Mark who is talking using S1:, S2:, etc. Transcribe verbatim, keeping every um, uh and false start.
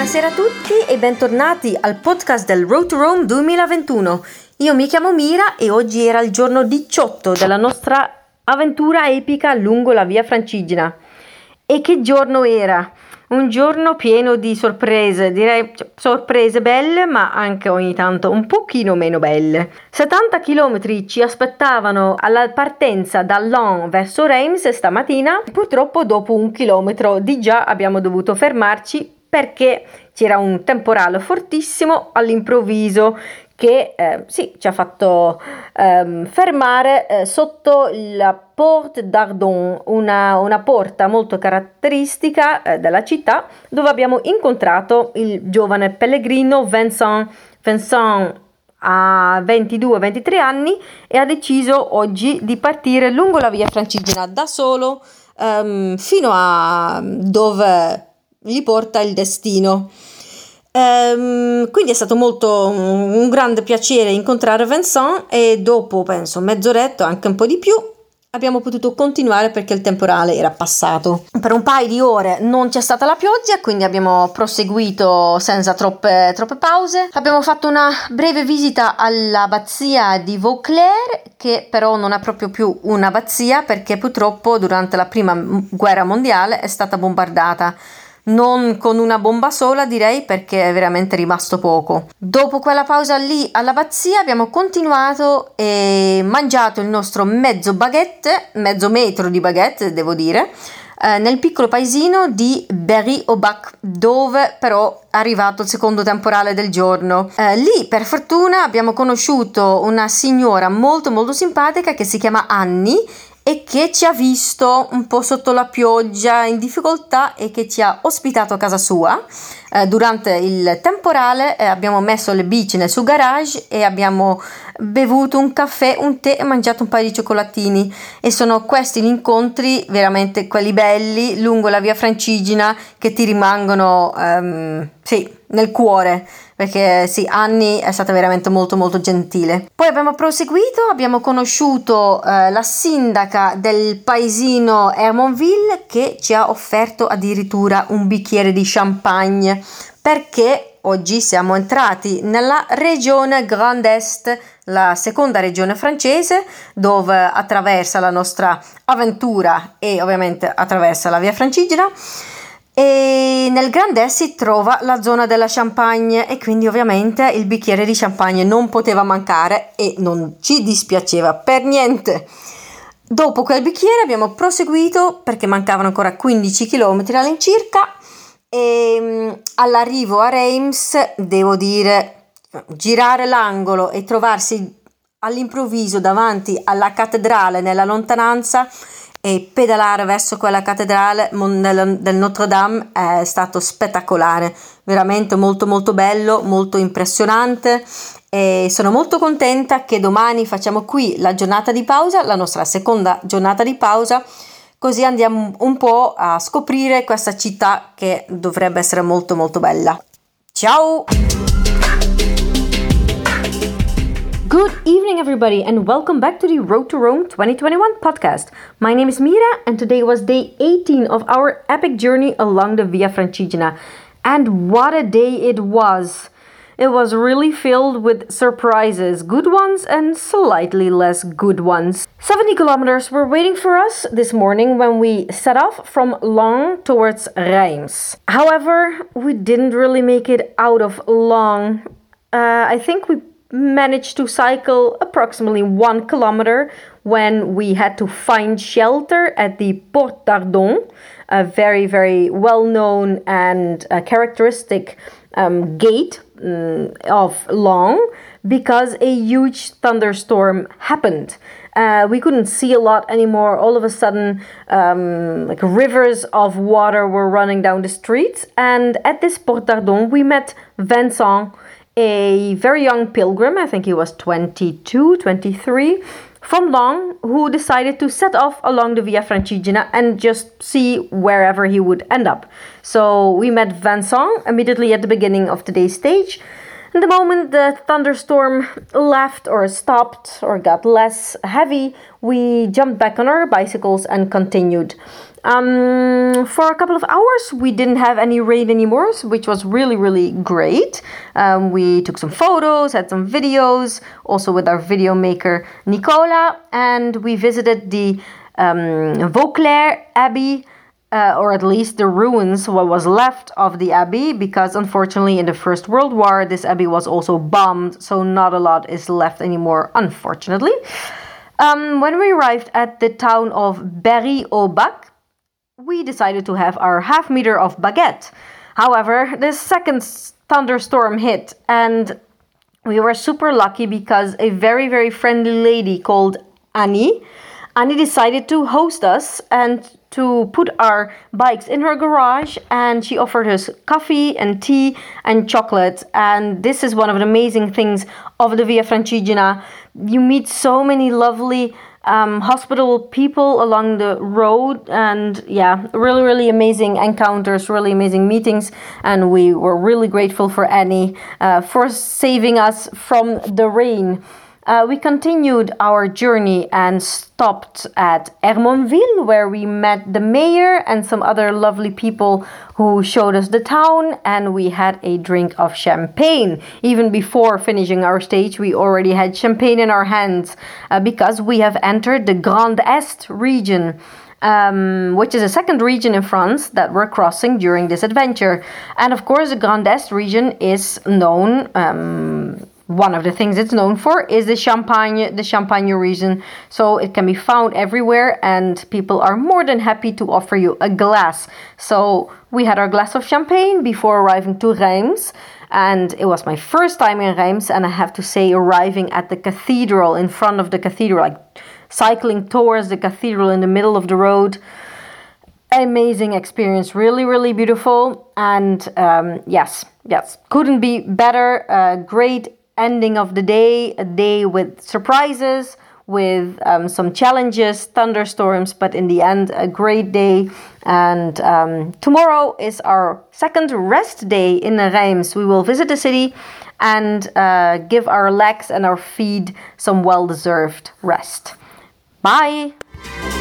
S1: Buonasera a tutti e bentornati al podcast del Road to Rome duemilaventuno. Io mi chiamo Mira e oggi era il giorno diciotto della nostra avventura epica lungo la via Francigena. E che giorno era? Un giorno pieno di sorprese, direi sorprese belle ma anche ogni tanto un pochino meno belle. settanta chilometri ci aspettavano alla partenza da Laon verso Reims stamattina. Purtroppo dopo un chilometro di già abbiamo dovuto fermarci perché c'era un temporale fortissimo all'improvviso che eh, sì, ci ha fatto ehm, fermare eh, sotto la Porte d'Ardon, una, una porta molto caratteristica eh, della città, dove abbiamo incontrato il giovane pellegrino Vincent. Vincent ha ventidue ventitré anni e ha deciso oggi di partire lungo la via Francigena da solo ehm, fino a dove gli porta il destino. Ehm, quindi è stato molto un, un grande piacere incontrare Vincent e dopo penso mezz'oretta, anche un po' di più, abbiamo potuto continuare perché il temporale era passato. Per un paio di ore non c'è stata la pioggia, quindi abbiamo proseguito senza troppe, troppe pause. Abbiamo fatto una breve visita all'abbazia di Vauclair, che però non è proprio più un'abbazia perché purtroppo durante la prima guerra mondiale è stata bombardata. Non con una bomba sola, direi, perché è veramente rimasto poco. Dopo quella pausa lì all'abbazia abbiamo continuato e mangiato il nostro mezzo baguette, mezzo metro di baguette devo dire, eh, nel piccolo paesino di Berry-au-Bac, dove però è arrivato il secondo temporale del giorno. Eh, lì per fortuna abbiamo conosciuto una signora molto molto simpatica che si chiama Annie e che ci ha visto un po' sotto la pioggia in difficoltà e che ci ha ospitato a casa sua. Eh, durante il temporale eh, abbiamo messo le bici nel suo garage e abbiamo bevuto un caffè, un tè e mangiato un paio di cioccolatini, e sono questi gli incontri veramente quelli belli lungo la via Francigena che ti rimangono um, sì, nel cuore, perché sì, Annie è stata veramente molto molto gentile. Poi abbiamo proseguito, abbiamo conosciuto eh, la sindaca del paesino Hermonville che ci ha offerto addirittura un bicchiere di champagne, perché oggi siamo entrati nella regione Grand Est, la seconda regione francese, dove attraversa la nostra avventura e ovviamente attraversa la via Francigena. E nel Grand Est si trova la zona della Champagne e quindi ovviamente il bicchiere di champagne non poteva mancare e non ci dispiaceva per niente. Dopo quel bicchiere abbiamo proseguito perché mancavano ancora quindici chilometri all'incirca e all'arrivo a Reims devo dire girare l'angolo e trovarsi all'improvviso davanti alla cattedrale nella lontananza e pedalare verso quella cattedrale del Notre Dame è stato spettacolare, veramente molto molto bello, molto impressionante, e sono molto contenta che domani facciamo qui la giornata di pausa, la nostra seconda giornata di pausa, così andiamo un po' a scoprire questa città che dovrebbe essere molto molto bella. Ciao! Good evening, everybody, and welcome back to the Road to Rome twenty twenty-one podcast. My name is Mira, and today was day eighteen of our epic journey along the Via Francigena. And what a day it was! It was really filled with surprises, good ones and slightly less good ones. seventy kilometers were waiting for us this morning when we set off from Laon towards Reims. However, we didn't really make it out of Laon. Uh, I think we managed to cycle approximately one kilometer when we had to find shelter at the Porte d'Ardon, a very, very well-known and uh, characteristic um, gate um, of Laon, because a huge thunderstorm happened. Uh, we couldn't see a lot anymore. All of a sudden, um, like rivers of water were running down the streets. And at this Porte d'Ardon, we met Vincent, a very young pilgrim, I think he was twenty-two, twenty-three, from Laon, who decided to set off along the Via Francigena and just see wherever he would end up. So we met Vincent immediately at the beginning of today's stage. And the moment the thunderstorm left or stopped or got less heavy, we jumped back on our bicycles and continued. Um, for a couple of hours, we didn't have any rain anymore, which was really, really great. Um, we took some photos, had some videos, also with our video maker Nicola, and we visited the um, Vauclair Abbey, uh, or at least the ruins, what was left of the abbey, because unfortunately in the First World War, this abbey was also bombed, so not a lot is left anymore, unfortunately. Um, when we arrived at the town of Berry-au-Bac, we decided to have our half meter of baguette. However, the second thunderstorm hit, and we were super lucky because a very, very friendly lady called Annie, Annie decided to host us and to put our bikes in her garage, and she offered us coffee and tea and chocolate. And this is one of the amazing things of the Via Francigena. You meet so many lovely Um, hospitable people along the road, and yeah, really, really amazing encounters, really amazing meetings, and we were really grateful for Annie uh, for saving us from the rain. Uh, we continued our journey and stopped at Hermonville, where we met the mayor and some other lovely people who showed us the town, and we had a drink of champagne. Even before finishing our stage, we already had champagne in our hands uh, because we have entered the Grand Est region, Um, which is a second region in France that we're crossing during this adventure. And of course, the Grand Est region is known, um, one of the things it's known for is the Champagne, the Champagne region. So it can be found everywhere, and people are more than happy to offer you a glass. So we had our glass of champagne before arriving to Reims. And it was my first time in Reims, and I have to say, arriving at the cathedral, in front of the cathedral, like cycling towards the cathedral in the middle of the road. Amazing experience, really, really beautiful. And um, yes, yes, couldn't be better. A great ending of the day, a day with surprises, with um, some challenges, thunderstorms, but in the end, a great day. And um, tomorrow is our second rest day in Reims. We will visit the city and uh, give our legs and our feet some well-deserved rest. Bye!